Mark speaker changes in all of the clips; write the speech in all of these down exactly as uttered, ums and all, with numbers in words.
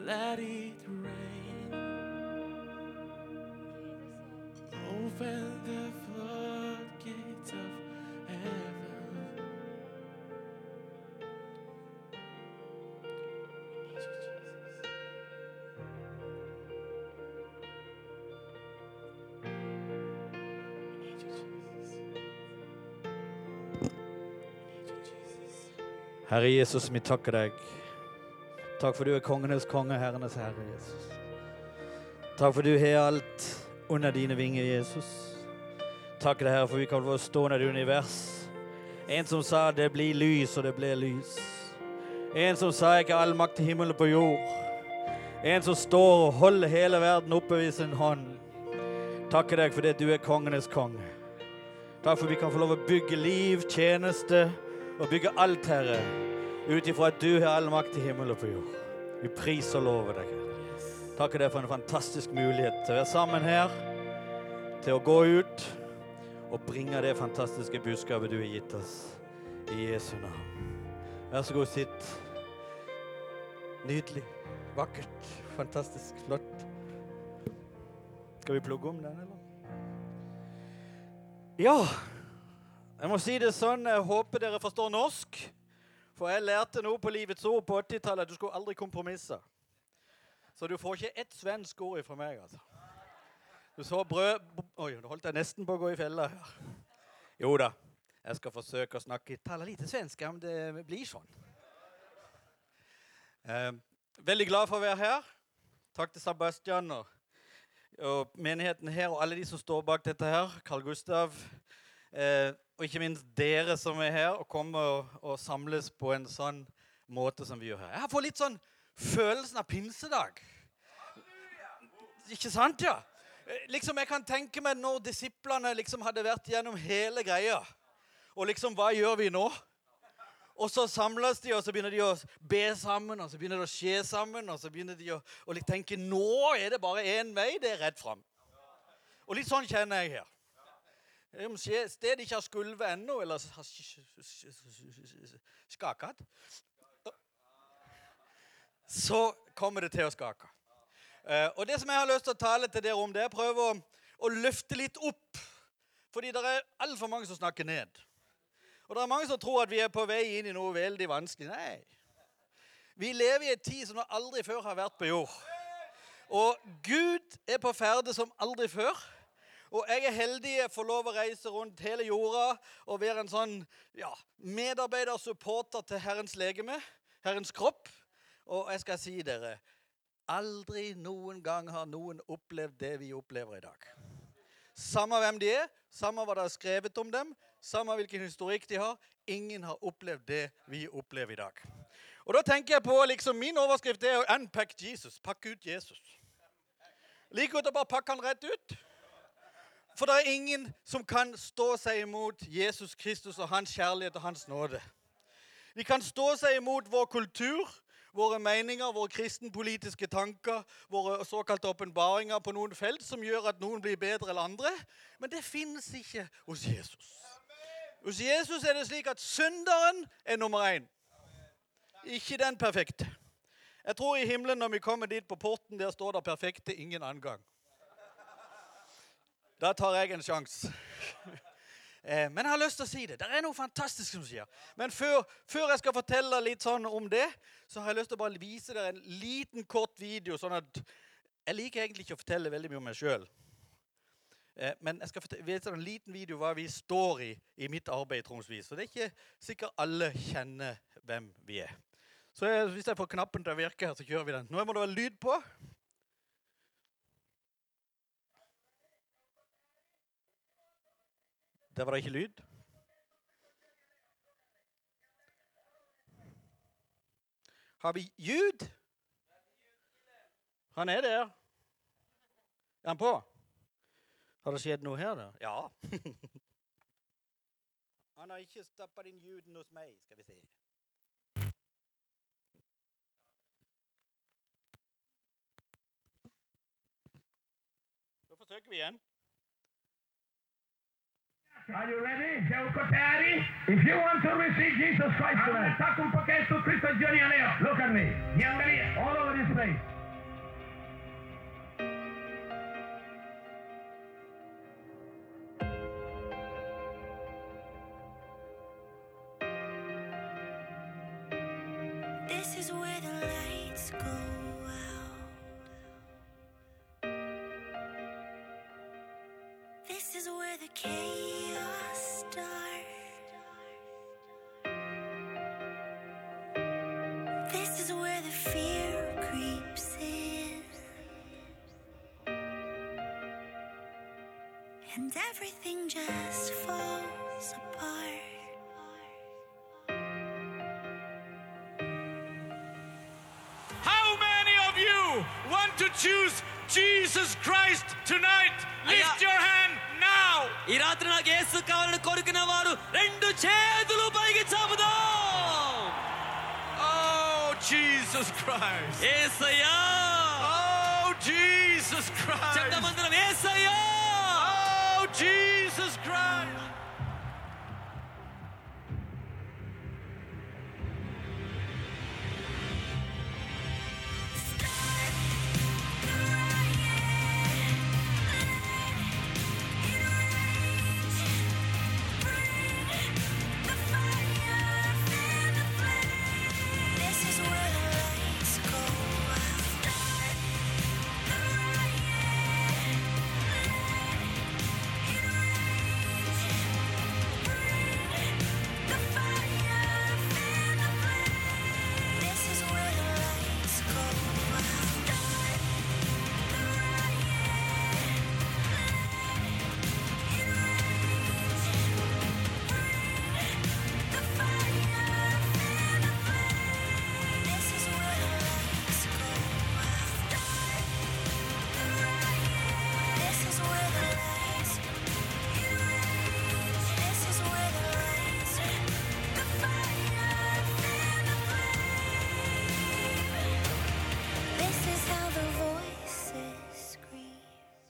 Speaker 1: let it rain. Open the floodgates of heaven. Need you, Jesus. Need you, Jesus. Need you, Jesus.
Speaker 2: Herre Jesus, vi takker deg. Takk for du er kongenes konge, herrenes herre, Jesus. Takk for du har alt under dine vinger, Jesus. Takk deg, Herre, for vi kan få stå under det univers. En som sa det blir lys, og det blir lys. En som sa ikke all makt til himmelen på jord. En som står og holder hele verden oppe ved sin hånd. Takk deg for det du er kongenes konge. Takk for vi kan få lov å bygge liv, tjeneste og bygge alt, Herre, utifra at du har all makt i himmel og på jord. Vi priser og lover deg. Takk deg for en fantastisk mulighet til å være sammen her, til å gå ut og bringe det fantastiske budskapet du har gitt oss i Jesu navn. Vær så god, sitt. Nydelig, vakkert, fantastisk, flott. Skal vi plugge om den, eller? Ja, jeg må si det sånn, jeg håper dere forstår norsk. For jeg lærte noe på livets ord på åttitallet at du skulle aldri kompromisse. Så du får ikke ett svensk ord fra meg, altså. Du så brød... Oi, nå holdt jeg nesten på å gå i fella her. Jo da, jeg skal forsøke å snakke, tale lite svensk, men det blir sånn. Eh, veldig glad for å være her. Takk til Sebastian og, og menigheten her, og alle de som står bak dette her. Carl Gustav, eh, og ikke minst dere som er her og kommer og, og samles på en sånn måte som vi gjør her. Jeg har fått litt sånn følelsen av pinsedag. Ikke sant, ja? Liksom jeg kan tenke meg når disiplene liksom hadde vært gjennom hele greia. Og liksom, hva gjør vi nå? Og så samles de, og så begynner de å be sammen, og så begynner det å skje sammen, og så begynner de å, å tenke, nå er det bare en vei, det er rett frem. Og litt sånn kjenner jeg her. Om stedet ikke har skulvet ennå, eller har skaket, så kommer det til å skake. Og det som jeg har lyst til å tale til dere om, det er å prøve å, å løfte litt opp. Fordi det er alt for mange som snakker ned. Og det er mange som tror at vi er på vei inn i noe veldig vanskelig. Nei. Vi lever i en tid som aldri før har vært på jord. Og Gud er på ferde som aldri før. Og jeg er heldig å få lov å reise rundt hele jorda og være en sånn ja, medarbeider, supporter til Herrens legeme, Herrens kropp. Og jeg skal si dere, aldri noen gang har noen opplevd det vi opplever i dag. Samme hvem de er, samme hva det er skrevet om dem, samme hvilken historikk de har, ingen har opplevd det vi opplever i dag. Og da tenker jeg på, liksom, min overskrift er å unpack Jesus, pakke ut Jesus. Like godt å bare pakke han rett ut. For det er ingen som kan stå seg imot Jesus Kristus og hans kjærlighet og hans nåde. De kan stå seg imot vår kultur, våre meninger, våre kristenpolitiske tanker, våre såkalte åpenbaringer på noen felt som gjør at noen blir bedre enn andre. Men det finnes ikke hos Jesus. Hos Jesus er det slik at synderen er nummer én. Ikke den perfekte. Jeg tror i himmelen når vi kommer dit på porten, der står det perfekte ingen annen gang. Da tar jeg en sjans. eh, men jeg har lyst til å si det. Det er noe fantastisk som sier. Men før, før jeg skal fortelle litt sånn om det, så har jeg lyst til å bare vise dere en liten kort video, sånn at jeg liker egentlig ikke å fortelle veldig mye om meg selv. Eh, men jeg skal fortelle, vise en liten video hva vi står i i mitt arbeid, tromsvis. Så det er ikke sikkert alle kjenner hvem vi er. Så jeg, hvis jeg får knappen til å virke her, så kjører vi den. Nå må det være lyd på. Der var det ikke lyd. Har vi ljud? Han er der. Er han på? Har det skjedd noe her da? Ja. Han har ikke stoppet inn ljuden hos meg, skal vi se. Da forsøker vi igjen.
Speaker 3: Are you ready? Siamo tayari? If you want to receive Jesus Christ tonight, look at me. Niangalie all over this place.
Speaker 4: is where the lights go out. This is where the chaos starts. This is where the fear creeps in. And everything just falls apart.
Speaker 5: How many of you want to choose Jesus Christ tonight? Lift your hand now.
Speaker 6: ఈ రాత్రి నాకు యేసు కావాలని కోరుకున్న వారు రెండు చేతులు పైకి చాపుదాం.
Speaker 5: Oh, Jesus Christ.
Speaker 6: యేసయ్యా.
Speaker 5: Oh, Jesus Christ.
Speaker 6: చెప్తామందరం యేసయ్యా.
Speaker 5: Oh, Jesus Christ.
Speaker 4: This is where the lights go out. The fire and the flame. This is where the lights go out. The fire and the flame. This is where the lights go out. This is where the lights. This is where the lights. The fire and the flame. This is how the voices scream.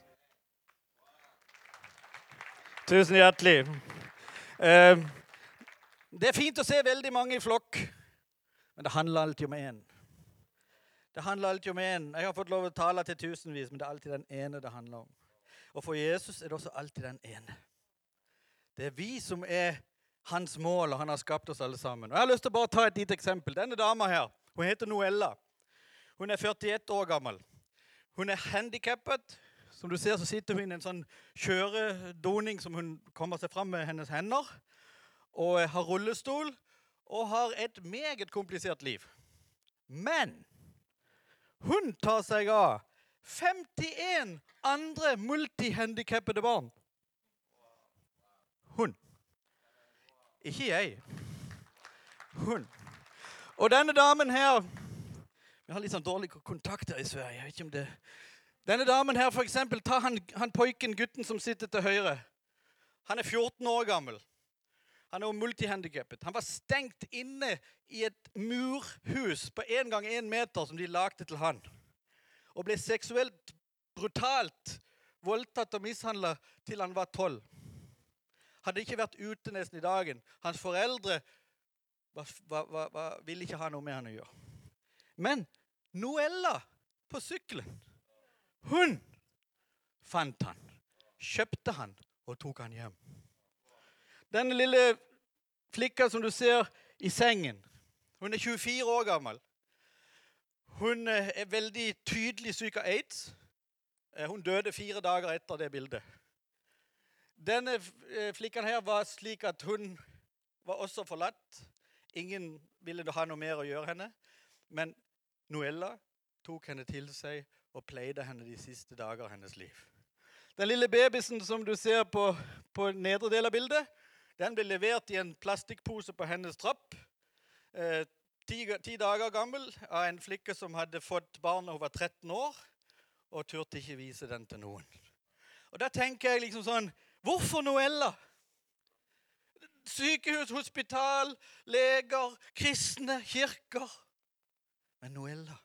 Speaker 2: Tusen hjertelig. Eh, Det er fint å se veldig mange i flokk, men det handler alltid om en. Det handler alltid om en. Jeg har fått lov å tale til tusenvis, men det er alltid den ene det handler om. Og for Jesus er det også alltid den ene. Det er vi som er hans mål, og han har skapt oss alle sammen. Og jeg har lyst til å bare ta et lite eksempel. Denne dama her, hun heter Noella. Hun er førtiett år gammel. Hun er handikappet. Som du ser, så sitter hun i en sånn kjøredoning som hun kommer seg fram med hennes hender, og har rullestol, og har et meget komplisert liv. Men hun tar seg av femtien andre multihandikappede barn. Hun. Ikke jeg. Hun. Og denne damen her, vi har litt sånn dårlige kontakter i Sverige, jeg vet ikke om det. Denne damen her, for eksempel, ta han, han pojken, gutten som sitter til høyre. Han er fjorten år gammel. Han er jo multihandikappet. Han var stengt inne i et murhus på en gang en meter som de lagde til han. Og ble seksuelt brutalt voldtatt og mishandlet til han var tolv. Hadde ikke vært ute nesten i dagen. Hans foreldre var, var, var, var, ville ikke ha noe med han å gjøre. Men Noella på sykkelen, hun fant han, kjøpte han og tok han hjem. Denne lille flikka som du ser i sengen, hun er tjuefire år gammel. Hun er veldig tydelig syk av AIDS. Hun døde fire dager etter det bildet. Denne flikkan her var slik at hun var også forlatt. Ingen ville ha noe mer å gjøre henne. Men Noella tok henne til seg og pleide henne de siste dager av hennes liv. Den lille babysen som du ser på, på nedre del av bildet, den ble levert i en plastikkpose på hennes trapp. Eh, ti, ti dager gammel av en flikke som hadde fått barn da hun var tretten år, og turte ikke vise den til noen. Og da tenker jeg liksom sånn, hvorfor Noella? Sykehus, hospital, leger, kristne, kirker. Men Noella,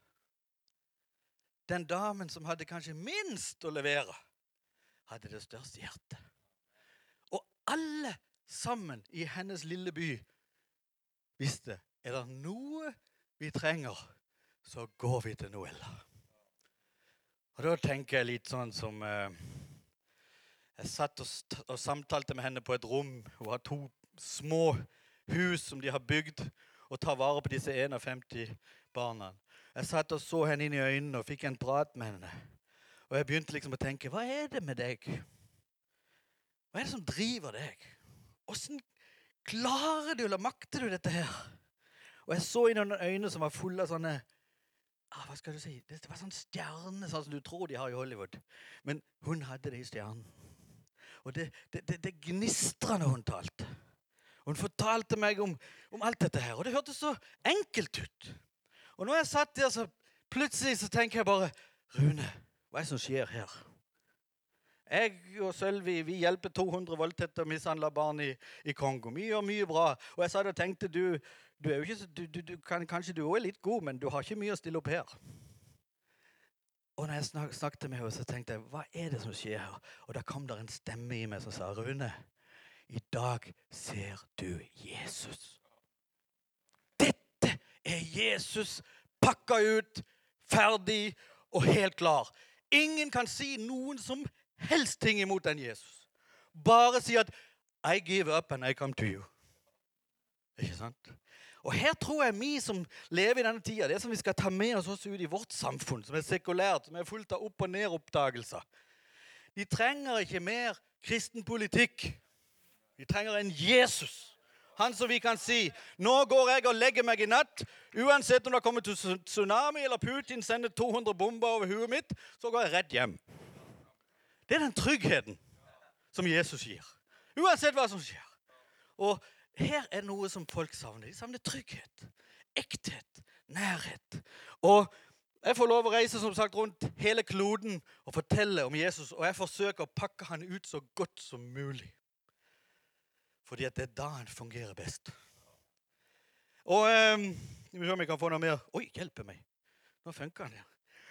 Speaker 2: den damen som hadde kanskje minst å levere, hadde det største hjertet. Og alle sammen i hennes lille by visste, er det noe vi trenger, så går vi til Noella. Og da tenker jeg litt sånn som eh, jeg satt og, og samtalte med henne på et rom. Hun har to små hus som de har bygd og tar vare på disse femtien barna. Jeg satt og så henne inn i øynene og fikk en prat med henne. Og jeg begynte liksom å tenke, hva er det med deg? Hva er det som driver deg? Hvordan klarer du, eller makter du dette her? Og jeg så inn i noen øyne som var fulle av sånne, ah, hva skal du si? Det var sånn stjerne, sånn som du tror de har i Hollywood. Men hun hadde det i stjernen. Og det, det, det, det gnistret når hun talte. Hun fortalte meg om, om alt dette her, og det hørtes så enkelt ut. Og når jeg satt der, så plutselig så tenker jeg bare, Rune, hva er det som skjer her? Jeg og Sølvi, vi hjelper to hundre voldtekter og mishandler barn i, i Kongo. Vi gjør mye bra. Og jeg sa det og tenkte, du, du er jo ikke så, du, du, du kan, kanskje du er litt god, men du har ikke mye å stille opp her. Og når jeg snak, snakket med henne, så tenkte jeg, hva er det som skjer her? Og da kom der en stemme i meg som sa, Rune, i dag ser du Jesus. Dette er Jesus pakket ut, ferdig og helt klar. Ingen kan si noen som helst ting imot den Jesus. Bare si at I give up and I come to you. Ikke sant? Og her tror jeg vi som lever i denne tida, det som vi skal ta med oss også ut i vårt samfunn, som er sekulært, som er fullt av opp- og ned-oppdagelser. De trenger ikke mer kristen politikk. De trenger en Jesus. Han som vi kan si, nå går jeg og legger meg i natt, uansett om det kommer til tsunami eller Putin sender to hundre bomber over huet mitt, så går jeg rett hjem. Det er den tryggheten som Jesus gir. Uansett hva som skjer. Og her er noe som folk savner. De savner trygghet, ekthet, nærhet. Og jeg får lov å reise som sagt rundt hele kloden og fortelle om Jesus, og jeg forsøker å pakke han ut så godt som mulig. Fordi at det er da han fungerer best. Og um, vi hører om vi kan få noe mer. Oi, hjelpe meg. Nå funker han her.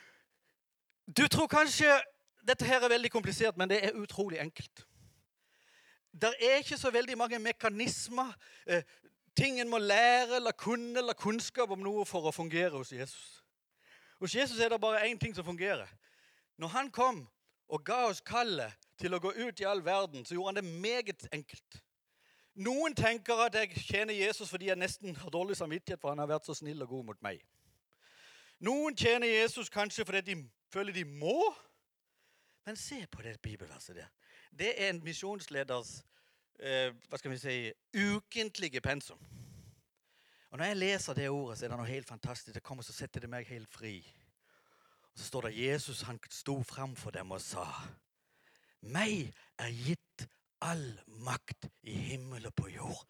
Speaker 2: Du tror kanskje dette her er veldig komplisert, men det er utrolig enkelt. Det er ikke så veldig mange mekanismer, eh, ting en må lære eller kunne eller kunnskap om noe for å fungere hos Jesus. Hos Jesus er det bare en ting som fungerer. Når han kom og ga oss kallet til å gå ut i all verden, så gjorde han det meget enkelt. Noen tenker at jeg tjener Jesus fordi jeg nesten har dårlig samvittighet, for han har vært så snill og god mot meg. Noen tjener Jesus kanskje fordi de føler de må. Men se på det bibelverset der. Det er en misjonsleders, eh, hva skal vi si, ukentlige pensum. Og når jeg leser det ordet, så er det noe helt fantastisk. Det kommer, så setter det meg helt fri. Og så står det, Jesus, han sto frem for dem og sa, meg er gitt all makt i himmel og på jord.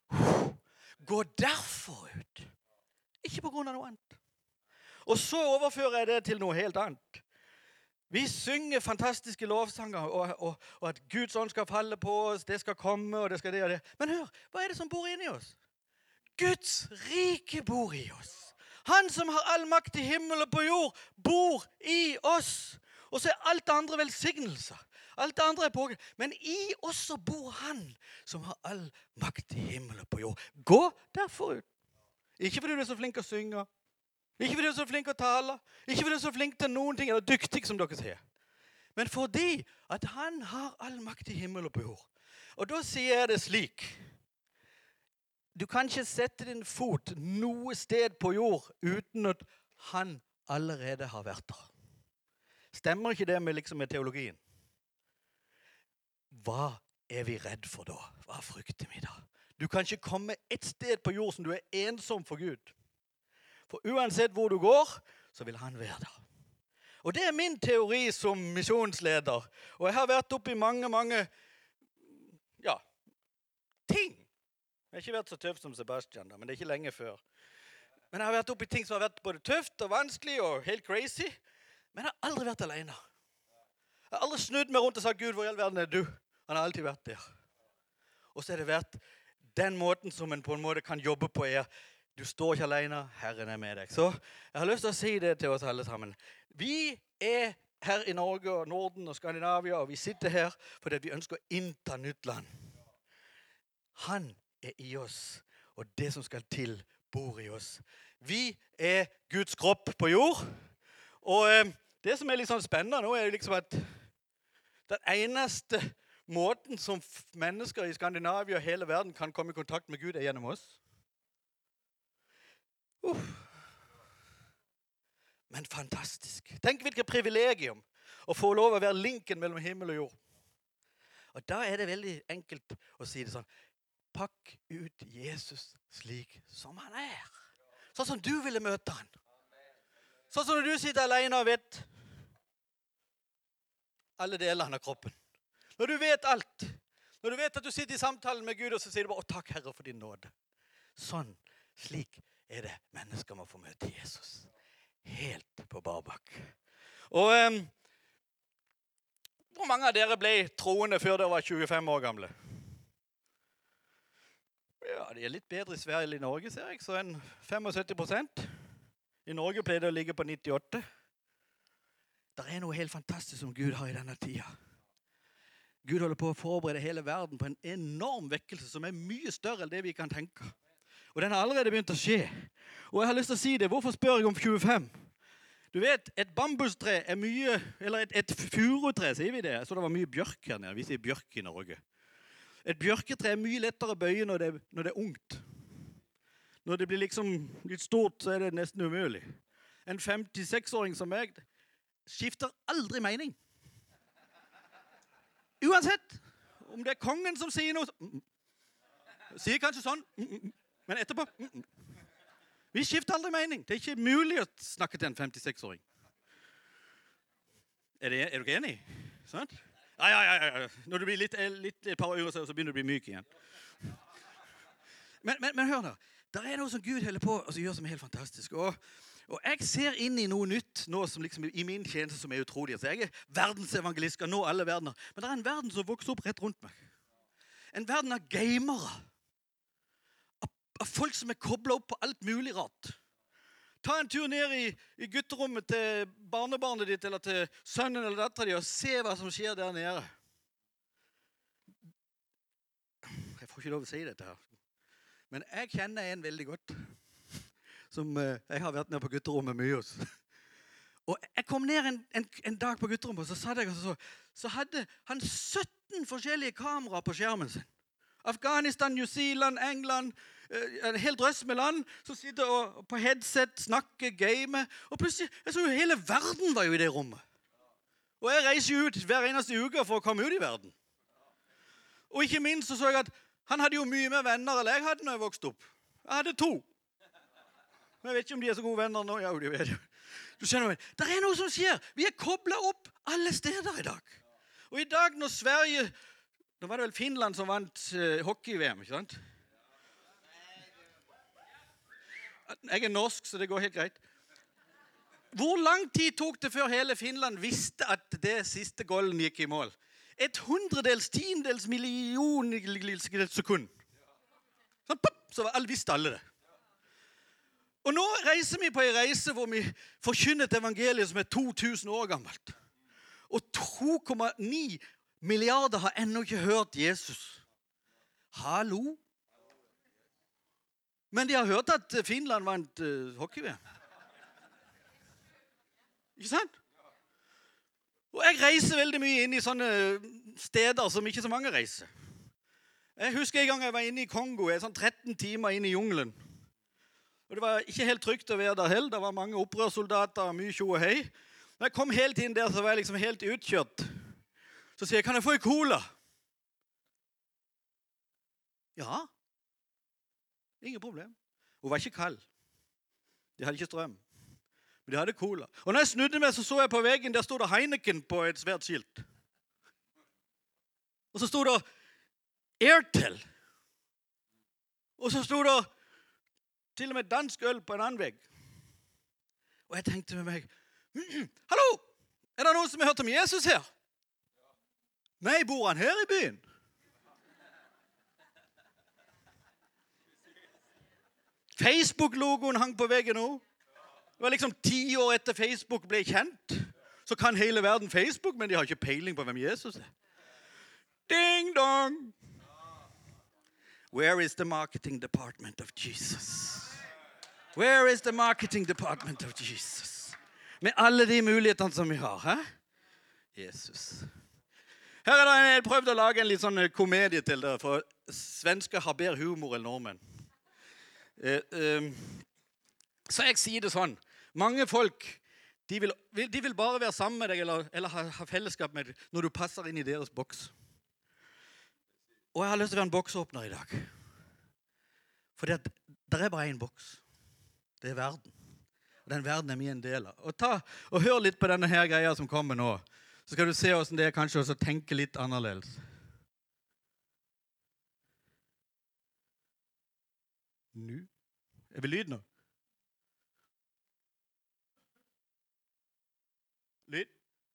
Speaker 2: Gå derfor ut. Ikke på grunn av noe annet. Og så overfører jeg det til noe helt annet. Vi synger fantastiske lovsanger, og, og, og at Guds ånd skal falle på oss, det skal komme, og det skal det og det. Men hør, hva er det som bor inni oss? Guds rike bor i oss. Han som har all makt i himmel og på jord, bor i oss. Og så er alt andre velsignelser. Alt det andre er på. Men i oss så bor han som har all makt i himmel og på jord. Gå derfor ut. Ikke fordi du er så flink å synge. Ikke fordi du er så flink å tale. Ikke fordi du er så flink til noen ting, eller dyktig som dere sier. Men fordi at han har all makt i himmel og på jord. Og da sier jeg det slik. Du kan ikke sette din fot noe sted på jord uten at han allerede har vært der. Stemmer ikke det med, liksom, med teologien? Hva er vi redd for da? Hva frykter vi da? Du kan ikke komme et sted på jord som du er ensom for Gud. For uansett hvor du går, så vil han være der. Og det er min teori som misjonsleder. Og jeg har vært oppe i mange, mange ja, ting. Jeg har ikke vært så tøff som Sebastian, da, men det er ikke lenge før. Men jeg har vært oppe i ting som har vært både tøft og vanskelig og helt crazy. Men jeg har aldri vært alene. Jeg har aldri snudd meg rundt og sagt, Gud, hvor i all verden er du? Han har alltid vært der. Og så har det vært den måten som en på en måte kan jobbe på er, du står ikke alene, Herren er med deg. Så jeg har lyst til å si det til oss alle sammen. Vi er her i Norge og Norden og Skandinavia, og vi sitter her fordi vi ønsker å innta nytt land. Han er i oss, og det som skal til bor i oss. Vi er Guds kropp på jord, og eh, det som er litt sånn spennende nå er liksom at den eneste måten som mennesker i Skandinavia og hele verden kan komme i kontakt med Gud er gjennom oss. Uff. Men fantastisk. Tenk hvilket privilegium å få lov å være linken mellom himmel og jord. Og da er det veldig enkelt å si det sånn. Pakk ut Jesus slik som han er. Sånn som du ville møte han. Sånn som når du sitter alene og vet alle delene av kroppen. Når du vet alt. Når du vet at du sitter i samtalen med Gud, og så sier du bare, å takk Herre for din nåde. Sånn, slik er det mennesker må få møte Jesus. Helt på barbak. Og um, hvor mange av dere ble troende før dere var tjuefem år gamle? Ja, det er litt bedre i Sverige enn i Norge, ser jeg, så en syttifem prosent. I Norge pleier det å ligge på nittiåtte. Det er noe helt fantastisk som Gud har i denne tida. Gud holder på å forberede hele verden på en enorm vekkelse som er mye større enn det vi kan tenke. Og den har allerede begynt å skje. Og jeg har lyst til å si det. Hvorfor spør jeg om tjuefem? Du vet, et bambustre er mye, eller et, et furutre, sier vi det. Så det var mye bjørk her nede. Vi sier bjørk i Norge. Et bjørketre er mye lettere å bøye når det, når det er ungt. Når det blir liksom litt stort, så er det nesten umulig. En femtiseks-åring som meg skifter aldri mening. Uansett, om det er kongen som sier noe, sier kanskje sånn, men etterpå, vi skifter aldri mening. Det er ikke mulig å snakke til en femtiseks-åring. Er, det, er du ikke enig? Sånn? Ja, ja, ja, ja. Når du blir litt, litt et par år, så begynner du å bli myk igjen. Men, men, men hør da, det er noe som Gud holder på og gjør som er helt fantastisk. Og, og jeg ser inn i noe nytt nå som liksom i min tjeneste som er utrolig. Så jeg er verdensevangelist, skal nå alle verdener. Men det er en verden som vokser opp rett rundt meg. En verden av gamere. Av, av folk som er koblet opp på alt mulig rart. Ta en tur ned i, i gutterommet til barnebarnet ditt, eller til sønnen eller datteren din, og se hva som skjer der nede. Jeg får ikke lov å si dette her. Men jeg kjenner en veldig godt, som uh, jeg har vært nede på gutterommet mye hos. Og jeg kom ned en, en, en dag på gutterommet, og så satt jeg og så, så hadde han sytten forskjellige kameraer på skjermen sin. Afghanistan, New Zealand, England, en hel drøss med land som sitter og, på headset, snakker, gamer. Og plutselig, jeg så jo hele verden var jo i det rommet. Og jeg reiser jo ut hver eneste uke for å komme ut i verden. Og ikke minst så så jeg at han hadde jo mye mer venner enn jeg hadde når jeg vokste opp. Jeg hadde to. Jeg vet ikke om de er så gode venner nå. Ja, de vet jo. Du skjønner meg. Det er noe som skjer. Vi er koblet opp alle steder i dag. Og i dag når Sverige... Da var det vel Finland som vant uh, hockey-V M, ikke sant? Jeg er norsk, så det går helt greit. Hvor lang tid tok det før hele Finland visste at det siste golden gikk i mål? Et hundredels, tiendels, millionels sekund. Sånn, pop, så alle visste alle det. Og nå reiser vi på en reise hvor vi forkynner et evangelium som er to tusen år gammelt. Og to komma ni milliarder har ennå ikke hørt Jesus. Hallo? Men de har hørt at Finland vant uh, hockey-V M. Ikke sant? Og jeg reiser veldig mye inn i sånne steder som ikke så mange reiser. Jeg husker en gang jeg var inne i Kongo, jeg er sånn tretten timer inne i jungelen. Og det var ikke helt trygt å være der heller. Det var mange opprørssoldater, mye tjo og hei. Når jeg kom helt inn der, så var jeg liksom helt utkjørt. Så sier jeg, kan jeg få en cola? Ja. Ingen problem. Hun var ikke kald. De hadde ikke strøm. Men de hadde cola. Og når jeg snudde meg, så så jeg på veggen, der stod det Heineken på et svært skilt. Og så stod det Airtel. Og så stod det til og med dansk øl på en annen vegg. Og jeg tenkte med meg, mm, hallo, er det noen som har hørt om Jesus her? Nei, bor han her i byen? Facebook-logoen hang på veggen nå. Det var liksom ti år etter Facebook ble kjent. Så kan hele verden Facebook, men de har ikke peiling på hvem Jesus er. Ding dong! Where is the marketing department of Jesus? Where is the marketing department of Jesus? Med alle de mulighetene som vi har, hæ? Jesus. Her er det en, jeg prøvde å lage en litt sånn komedie til det, for svensker har bedre humor enn nordmenn. Eh, eh, så jeg sier det sånn, mange folk De vil, de vil bare være sammen med deg eller, eller ha, ha fellesskap med deg når du passer inn i deres boks. Og jeg har lyst til å være en boksåpner i dag. For det er bare en boks. Det er verden. Og den verden er vi en del av. Og ta og hør litt på denne her greia som kommer nå. Så skal du se hvordan det er kanskje også å tenke litt annerledes. Nå? Er vi lyd nå? Lyd?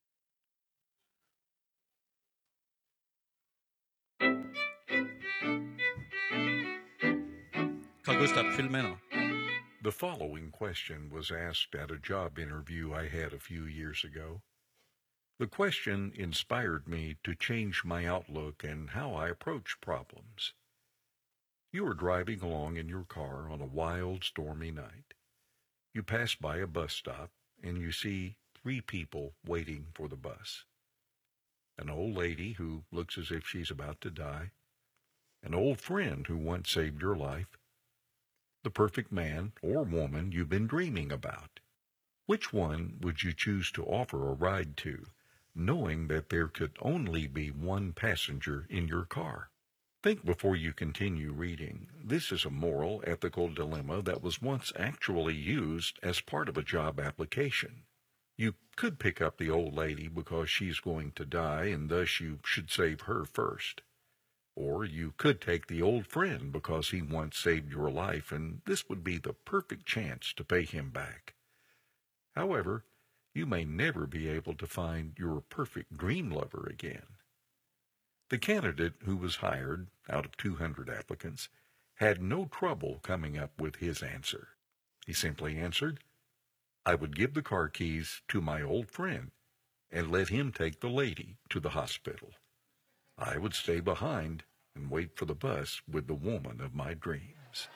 Speaker 2: Carl Gustav, følg med nå.
Speaker 7: The following question was asked at a job interview I had a few years ago. The question inspired me to change my outlook and how I approach problems. You are driving along in your car on a wild, stormy night. You pass by a bus stop and you see three people waiting for the bus. An old lady who looks as if she's about to die. An old friend who once saved your life. The perfect man or woman you've been dreaming about. Which one would you choose to offer a ride to, knowing that there could only be one passenger in your car? Think before you continue reading. This is a moral, ethical dilemma that was once actually used as part of a job application. You could pick up the old lady because she's going to die and thus you should save her first. Or you could take the old friend because he once saved your life and this would be the perfect chance to pay him back. However, you may never be able to find your perfect dream lover again. The candidate who was hired out of two hundred applicants had no trouble coming up with his answer. He simply answered, I would give the car keys to my old friend and let him take the lady to the hospital. I would stay behind and wait for the bus with the woman of my dreams.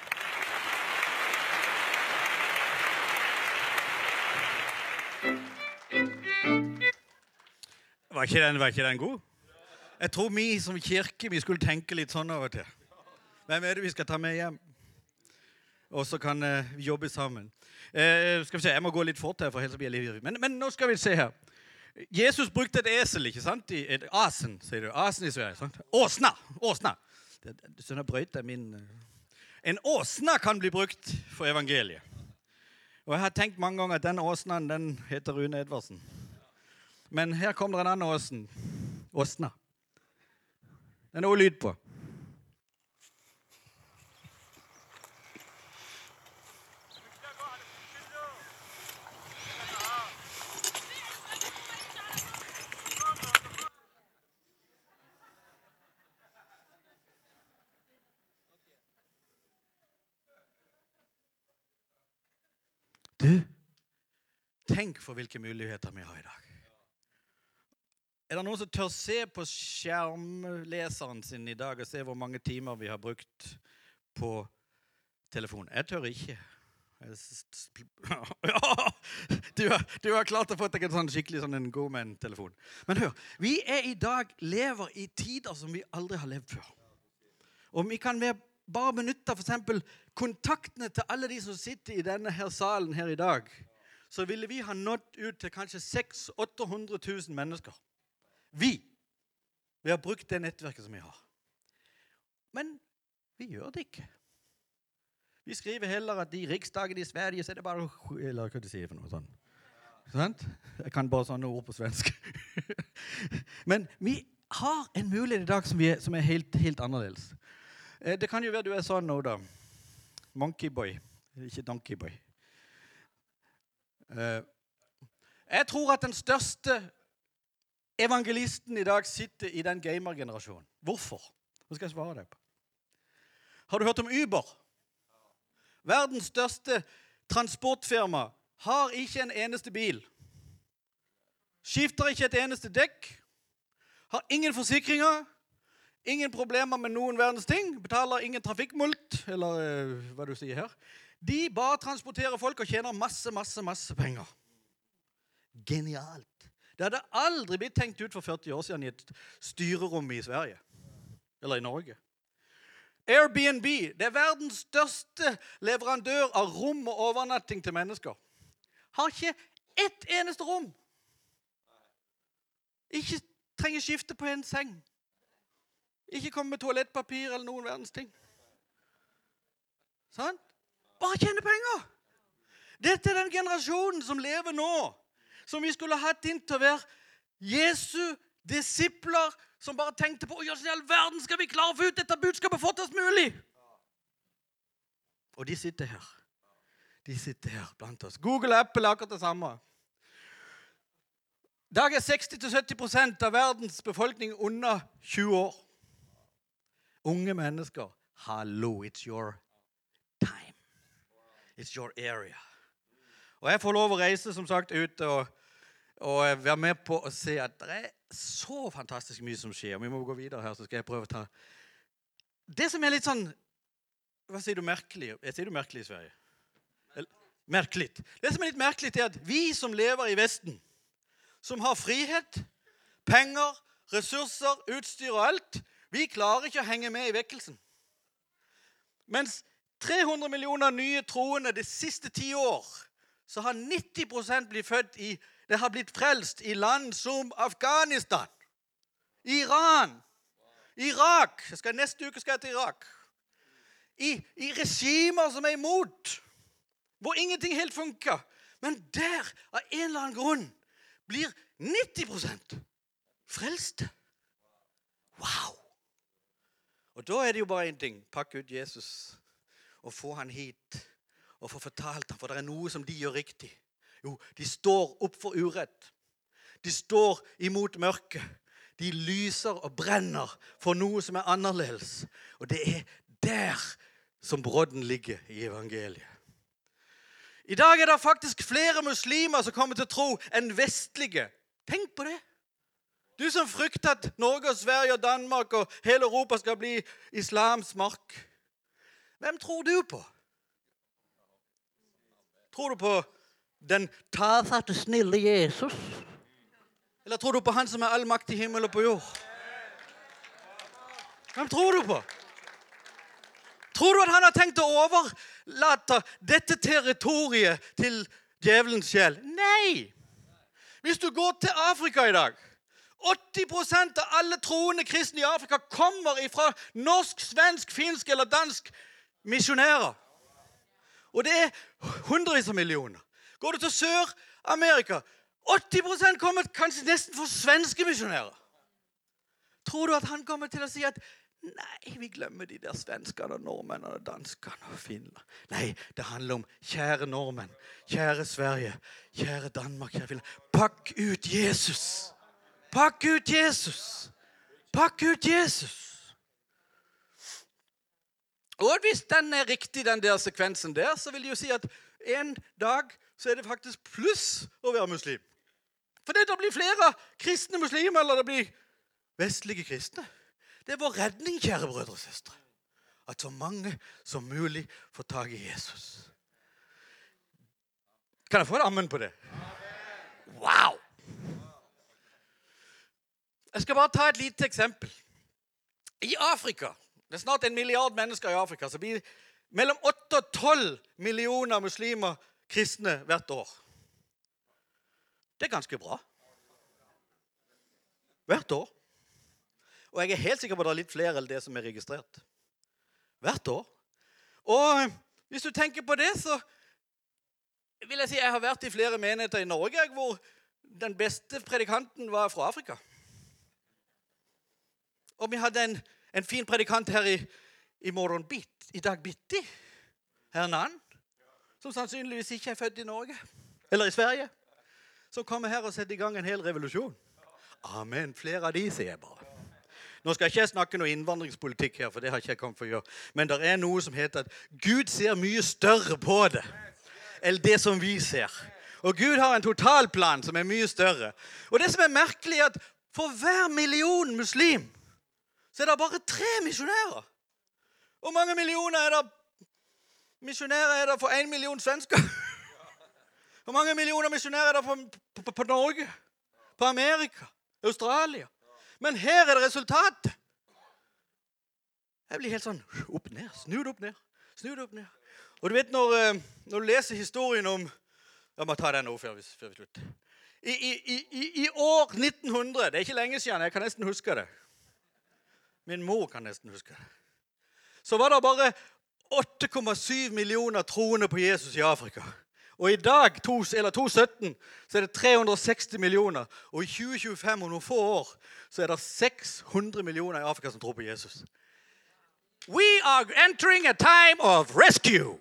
Speaker 2: Var ikke den, var ikke den god? Jeg tror vi som kirke, vi skulle tenke litt sånn av og til. Hvem er det vi skal ta med hjem? Og så kan uh, vi jobbe sammen. Uh, skal vi se, jeg må gå litt fort her, for ellers blir jeg litt. Men, men nå skal vi se her. Jesus brukte et esel, ikke sant? I et asen, sier du. Asen i Sverige, sant? Åsna, åsna. Det, det, sånn er brøyt, det er min... Uh. En åsna kan bli brukt for evangeliet. Og jeg har tenkt mange ganger at den åsnaen, den heter Rune Edvardsen. Men her kommer det en annen åsen. Åsna. Den er også lyd på. Du, tenk for hvilke muligheter vi har i dag. Er det noen som tør se på skjermleseren sin i dag og se hvor mange timer vi har brukt på telefon? Jeg tør ikke. Ja, du har, du har klart å få deg en sånn skikkelig sånn en god med en telefon. Men hør, vi er i dag lever i tider som vi aldri har levd før. Og vi kan være bare benytte for eksempel kontaktene til alle de som sitter i denne her salen her i dag. Så ville vi ha nått ut til kanskje seks til åtte hundre tusen mennesker. Vi. Vi har brukt det nettverket som vi har. Men vi gjør det ikke. Vi skriver heller at i riksdagen i Sverige så er det bare... Eller hva du sier for noe sånn? Sant? Jeg kan bare sånne ord på svensk. Men vi har en mulighet i dag som, vi er, som er helt, helt annerledes. Det kan jo være du er sånn nå da. Monkey boy. Ikke donkey boy. Jeg tror at den største evangelisten i dag sitter i den gamer-generasjonen. Hvorfor? Hva skal jeg svare deg på? Har du hørt om Uber? Verdens største transportfirma har ikke en eneste bil. Skifter ikke et eneste dekk. Har ingen forsikringer. Ingen problemer med noen verdens ting. Betaler ingen trafikkmult, eller uh, hva du sier her. De bare transporterer folk og tjener masse, masse, masse penger. Genialt. Det hadde aldri blitt tenkt ut for førti år siden i et styrerom i Sverige. Eller i Norge. Airbnb, det er verdens største leverandør av rom og overnatting til mennesker. Har ikke ett eneste rom. Ikke trenger skifte på en seng. Ikke komme med toalettpapir eller noen verdens ting. Sant? Bare tjene penger. Dette er den generasjonen som lever nå, som vi skulle hatt inn til å være Jesu disipler, som bare tenkte på, hvordan i all verden skal vi klare å få ut dette budskapet fortest mulig? Og de sitter her. De sitter her blant oss. Google og Apple er akkurat det samme. I dag er seksti til sytti prosent av verdens befolkning under tjue år. Unge mennesker. Hallo, it's your time. It's your area. Og jeg får lov å reise, som sagt, ut og, og være med på å se at det er så fantastisk mye som skjer. Vi må gå videre her, så skal jeg prøve å ta... Det som er litt sånn... Hva sier du merkelig? Jeg sier du merkelig i Sverige? Eller, merkelig. Det som er litt merkelig er at vi som lever i Vesten, som har frihet, penger, ressurser, utstyr og alt, vi klarer ikke å henge med i vekkelsen. Mens tre hundre millioner nye troende de siste ti år, så har nitti prosent blitt født i, det har blitt frelst i land som Afghanistan, Iran, Irak, jeg skal, neste uke skal jeg til Irak, I, i regimer som er imot, hvor ingenting helt funker, men der, av en eller annen grunn, blir nitti prosent frelste. Wow! Og da er det jo bare en ting, pakke ut Jesus og få han hit og få fortalt han, for det er noe som de gjør riktig. Jo, de står opp for urett. De står imot mørke. De lyser og brenner for noe som er annerledes. Og det er der som brodden ligger i evangeliet. I dag er det faktisk flere muslimer som kommer til å tro enn vestlige. Tenk på det. Du som frykter at Norge og Sverige og Danmark og hele Europa skal bli islams mark. Hvem tror du på? Tror du på den tafatte, snille Jesus? Eller tror du på han som er all makt i himmel og på jord? Hvem tror du på? Tror du at han har tenkt å overlate dette territoriet til djevelens sjel? Nei! Hvis du går til Afrika i dag, åtti prosent av alle troende kristne i Afrika kommer fra norsk, svensk, finsk eller dansk misjonærer. Og det er hundrevis av millioner. Går du til Sør-Amerika, åtti prosent kommer kanskje nesten fra svenske misjonærer. Tror du at han kommer til å si at nei, vi glemmer de der svenskene, nordmennene, danskene og Finland. Nei, det handler om kjære nordmenn, kjære Sverige, kjære Danmark, kjære Finland. Pakk ut Jesus. Pakk ut Jesus. Pakk ut Jesus. Og hvis den er riktig, den der sekvensen der, så vil det jo si at en dag så er det faktisk pluss å være muslim. For det blir flere kristne muslimer, eller det blir vestlige kristne. Det er vår redning, kjære brødre og søstre. At så mange som mulig får tag i Jesus. Kan jeg få et amen på det? Wow! Jeg skal bare ta et lite eksempel. I Afrika, det er snart en milliard mennesker i Afrika, så blir mellom åtte og tolv millioner muslimer kristne hvert år. Det er ganske bra. Hvert år. Og jeg er helt sikker på at det er litt flere enn det som er registrert. Hvert år. Og hvis du tenker på det, så vil jeg si jeg har vært i flere menigheter i Norge, hvor den beste predikanten var fra Afrika. Og vi hadde en, en fin predikant her i, i morgen bitt, i dag bitti, Hernan, som sannsynligvis ikke er født i Norge, eller i Sverige, som kommer her og setter i gang en hel revolusjon. Amen, flere av de sier jeg bare. Nå skal jeg ikke snakke noe innvandringspolitikk her, for det har ikke jeg kommet for å gjøre. Men det er noe som heter at Gud ser mye større på det, enn det som vi ser. Og Gud har en totalplan som er mye større. Og det som er merkelig er at for hver million muslim, så er det bare tre misjonærer. Hvor mange millioner er det misjonærer er det for en million svensker? Hvor mange millioner misjonærer er det på, på, på Norge? På Amerika? Australia? Men her er det resultatet. Jeg blir helt sånn opp ned, snudd opp ned, snudd opp ned. Og du vet når, når du leser historien om Jeg må ta den nå før vi, før vi slutter. I, i, i, I år nitten hundre, det er ikke lenge siden, jeg kan nesten huske det. Min mor kan nesten huske det. Så var det bare åtte komma syv millioner troende på Jesus i Afrika. Og i dag, to, eller to sytten, så er det tre hundre og seksti millioner. Og i tjue tjuefem, om noen få år, så er det seks hundre millioner i Afrika som tror på Jesus. We are entering a time of rescue.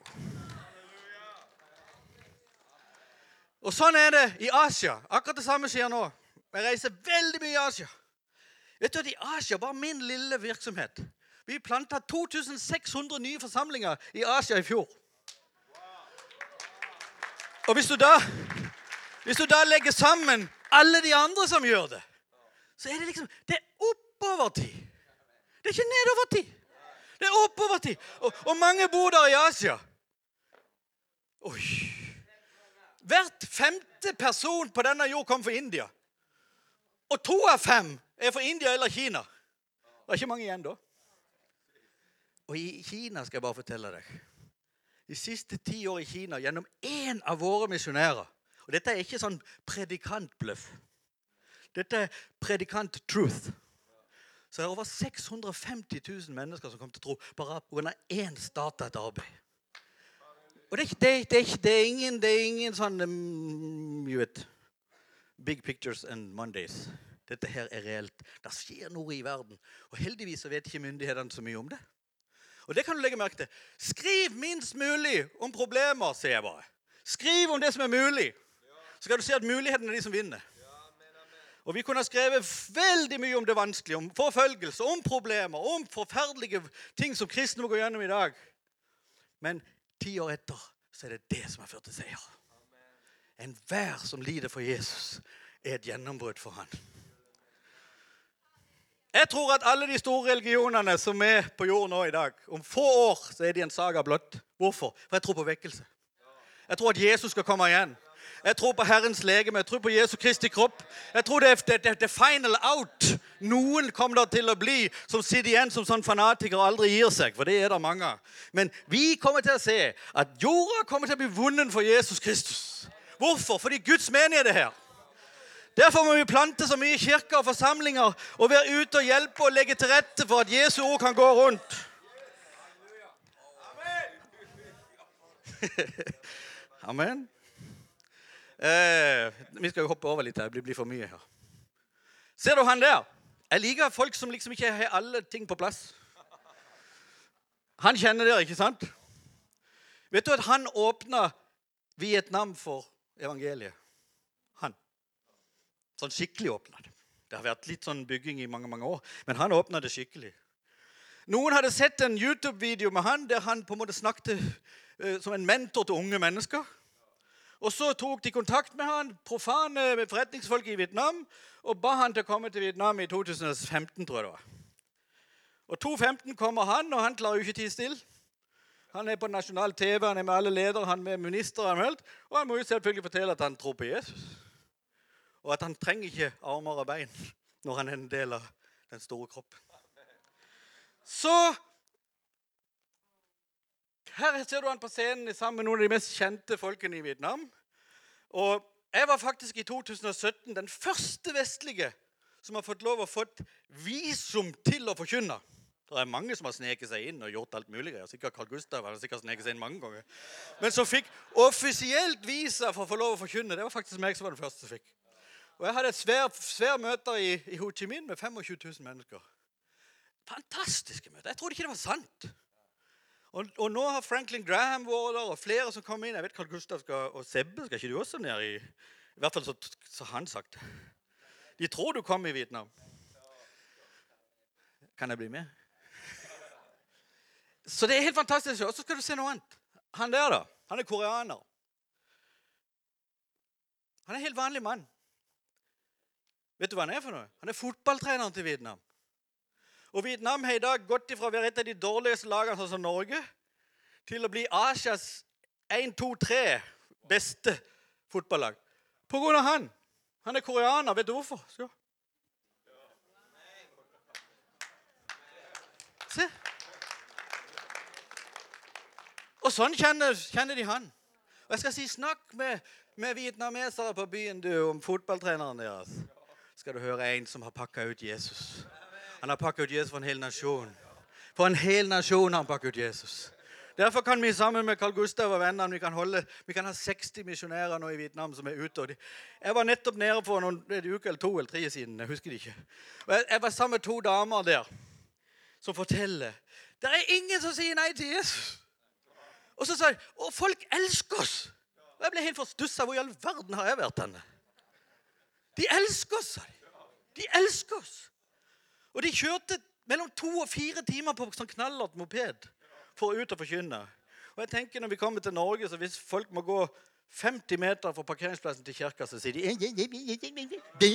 Speaker 2: Og sånn er det i Asia. Akkurat det samme skjer nå. Jeg reiser veldig mye i Asia. Vet du at i Asia, bare min lille virksomhet, vi plantet to tusen seks hundre nye forsamlinger i Asia i fjor. Og hvis du da, hvis du da legger sammen alle de andre som gjør det, så er det liksom, det er oppover tid. Det er ikke nedover tid. Det er oppover tid. Og, og mange bor der i Asia. Oi. Hvert femte person på denne jord kom fra India. Og to av fem er fra India eller Kina. Det er ikke mange igjen da. Og i Kina skal jeg bare fortelle deg. De siste ti år i Kina, gjennom en av våre missionærer, og dette er ikke sånn predikantbløff. Dette er predikant truth. Så det er over seks hundre og femti tusen mennesker som kom til tro bare på grunn av én startet et arbeid. Og det er, ikke, det, det, er ikke, det, er ingen, det er ingen sånn, um, you vet, big pictures and Mondays. Dette her er reelt. Det skjer noe i verden. Og heldigvis så vet ikke myndighetene så mye om det. Og det kan du legge merke til. Skriv minst mulig om problemer, sier jeg bare. Skriv om det som er mulig. Så skal du se at mulighetene er de som vinner. Og vi kunne ha skrevet veldig mye om det vanskelige, om forfølgelse, om problemer, om forferdelige ting som kristne må gå gjennom i dag. Men ti år etter, så er det det som har ført til seier. En hver som lider for Jesus er et gjennombrudd for han. Jeg tror at alle de store religionene som er på jorden nå i dag, om få år så er de en saga blott. Hvorfor? For jeg tror på vekkelse. Jeg tror at Jesus skal komme igjen. Jeg tror på Herrens legeme. Jeg tror på Jesu Kristi kropp. Jeg tror det er det, det, det final out. Noen kommer der til å bli som sitter igjen som sånn fanatiker og aldri gir seg, for det er det mange. Men vi kommer til å se at jorda kommer til å bli vunnen for Jesus Kristus. Hvorfor? Fordi Guds menighet er her. Derfor må vi plante så mye kirker og forsamlinger og være ute og hjelpe og legge til rette for at Jesu ord kan gå rundt. Amen. Eh, vi skal jo hoppe over litt her, det blir for mye her. Ser du han der? Jeg liker folk som liksom ikke har alle ting på plass. Han kjenner dere, ikke sant? Vet du at han åpnet Vietnam for evangeliet? Han. Sånn skikkelig åpnet det. Det har vært litt sånn bygging i mange, mange år, men han åpnet det skikkelig. Noen hadde sett en YouTube-video med han, der han på en måte snakket uh, som en mentor til unge mennesker. Og så tok de kontakt med han, profane forretningsfolk i Vietnam, og ba han til å komme til Vietnam i to tusen og femten, tror jeg det var. Og to tusen og femten kommer han, og han klarer jo ikke tid stille. Han er på nasjonal T V, han er med alle ledere, han er med minister, og han må jo selvfølgelig fortelle at han tror på Jesus. Og at han trenger ikke armer og bein når han er en del av den store kroppen. Så her ser du han på scenen sammen med noen av de mest kjente folkene i Vietnam. Og jeg var faktisk i to tusen og sytten den første vestlige som har fått lov å fått visum til å forkynne. Det er mange som har sneket seg inn og gjort alt mulig. Sikkert Carl Gustav har sikkert sneket seg inn mange ganger. Men som fikk offisielt visa for å få lov å forkynne, det var faktisk meg som var den første som fikk. Og jeg hadde et svær, svær møte i, i Ho Chi Minh med tjuefem tusen mennesker. Fantastiske møter. Jeg trodde ikke det var sant. Og, og nå har Franklin Graham vært der, og flere som kommer inn. Jeg vet Carl Gustav skal, og Sebbe, skal ikke du også ned i? I hvert fall så, så han sagt. De tror du kommer i Vietnam. Kan jeg bli med? Så det er helt fantastisk. Og så skal du se noe annet. Han der da, han er koreaner. Han er en helt vanlig mann. Vet du hva han er for noe? Han er fotballtreneren til Vietnam. Og Vietnam har i dag gått ifra å være et av de dårligste lagene sånn som Norge, til å bli Asias en, to, tre beste fotballag. På grunn av han. Han er koreaner. Vet du hvorfor? Så. Se. Og sånn kjenner, kjenner de han. Og jeg skal si, snakk med med vietnamesere på byen, du, om fotballtreneren deres. Skal du høre en som har pakket ut Jesus. Han har pakket ut Jesus for en hel nasjon. For en hel nasjon har han pakket ut Jesus. Derfor kan vi sammen med Carl Gustav og vennene, vi kan, holde, vi kan ha seksti misjonærer nå i Vietnam som er ute. Og de, jeg var nettopp nede for noen en uke eller to eller tre siden, jeg husker det ikke. Og jeg, jeg var sammen med to damer der som forteller, det er ingen som sier nei til Jesus. Og så sa jeg, og folk elsker oss. Og jeg ble helt forstusset, hvor i all verden har jeg vært denne? De elsker oss, sa de. De elsker oss. Og de kjørte mellom to og fire timer på sånn knallert moped for ut og forkynne. Og jeg tenker når vi kommer til Norge, så hvis folk må gå femti meter fra parkeringsplassen til kirka, så sier de det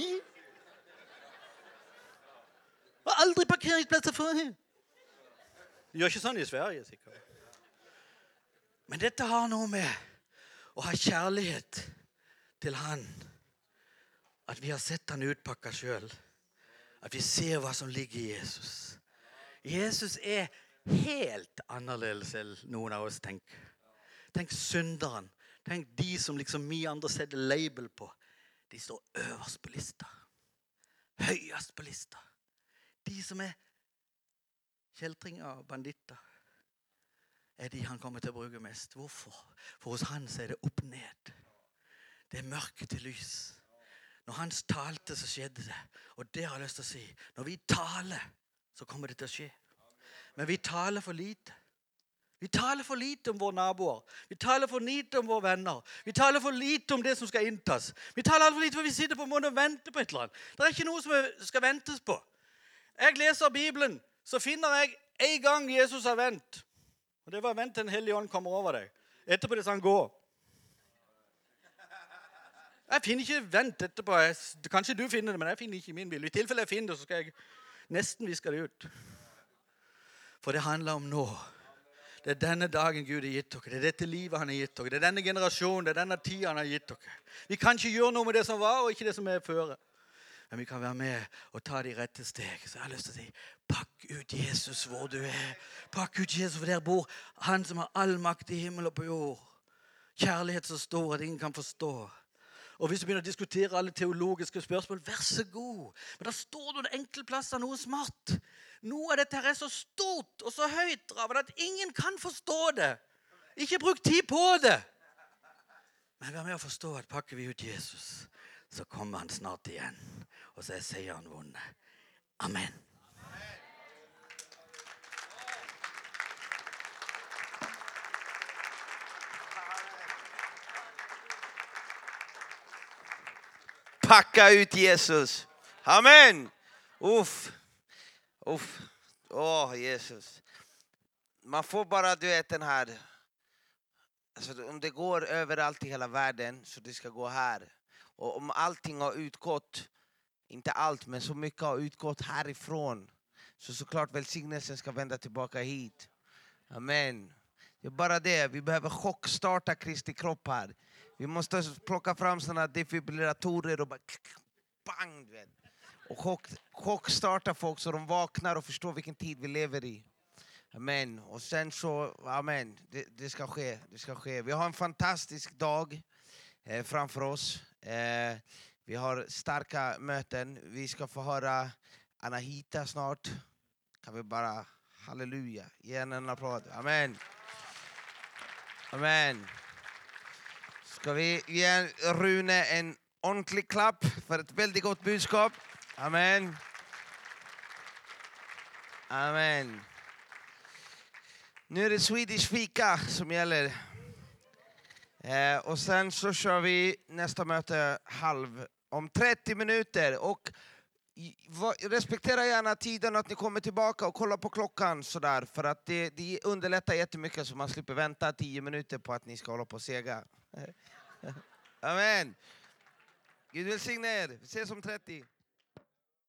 Speaker 2: var aldri parkeringsplasser for her. De gjør ikke sånn i Sverige, sikkert. Men dette har noe med å ha kjærlighet til han. At vi har sett han utpakket selv. At vi ser hva som ligger i Jesus. Jesus er helt annerledes enn noen av oss tenker. Tenk synderen. Tenk de som liksom vi andre setter label på. De står øverst på lista. Høyest på lista. De som er kjeltringer og banditter er de han kommer til å bruke mest. Hvorfor? For hos han så er det opp ned. Det er mørke til lys. Når han talte så skjedde det. Og det har jeg lyst til å si. Når vi taler så kommer det til å skje. Men vi taler for lite. Vi taler for lite om våre naboer. Vi taler for lite om våre venner. Vi taler for lite om det som skal inntas. Vi taler for lite for vi sitter på en måte og venter på et eller annet. Det er ikke noe som skal ventes på. Jeg leser Bibelen, så finner jeg en gang Jesus har vent. Og det var vent til en hellig ånd kommer over deg. Etterpå det sa han gå. Jeg finner ikke vent etterpå. Jeg, kanskje du finner det, men jeg finner ikke min bil. I tilfelle jeg finner det, så skal jeg nesten viske det ut. For det handler om nå. Det er denne dagen Gud har gitt dere. Det er dette livet han har gitt dere. Det er denne generasjonen, det er denne tiden han har gitt dere. Vi kan ikke gjøre noe med det som var, og ikke det som er føre. Men vi kan være med og ta de rette steg. Så jeg har lyst til å si, pakk ut Jesus hvor du er. Pakk ut Jesus hvor der bor. Han som har all makt i himmel og på jord. Kjærlighet så stor at ingen kan forstå. Og hvis du begynner å diskutere alle teologiske spørsmål, vær så god. Men da står det enkle plasser noe smart. Noe av dette her er så stort og så høyt, Raven, at ingen kan forstå det. Ikke bruk tid på det. Men vær med å forstå at pakker vi ut Jesus, så kommer han snart igjen. Og så er seieren vunnet. Amen.
Speaker 8: Packa ut Jesus. Amen. Uff. Uff. Åh, Jesus. Man får bara, du vet, den här. Alltså, om det går överallt i hela världen så det ska gå här. Och om allting har utgått, inte allt, men så mycket har utgått härifrån, så såklart välsignelsen ska vända tillbaka hit. Amen. Det är bara det. Vi behöver chockstarta Kristi kropp här. Vi måste plocka fram sådana defibrillatorer och bara bang, du vet. Och chock, chockstarta folk så de vaknar och förstår vilken tid vi lever i. Amen. Och sen så, amen, det, det ska ske, det ska ske. Vi har en fantastisk dag eh, framför oss. Eh, vi har starka möten. Vi ska få höra Anahita snart. Kan vi bara, halleluja, ge henne en applåd. Amen. Amen. Ska vi ge Rune en ordentlig klapp för ett väldigt gott budskap. Amen. Amen. Nu är det Swedish fika som gäller. Eh, och sen så kör vi nästa möte halv om trettio minuter. Och respektera gärna tiden att ni kommer tillbaka och kolla på klockan sådär. För att det, det underlättar jättemycket så man slipper vänta tio minuter på att ni ska hålla på och sega. Amen. Gud välsigne er. Vi ses om trettio.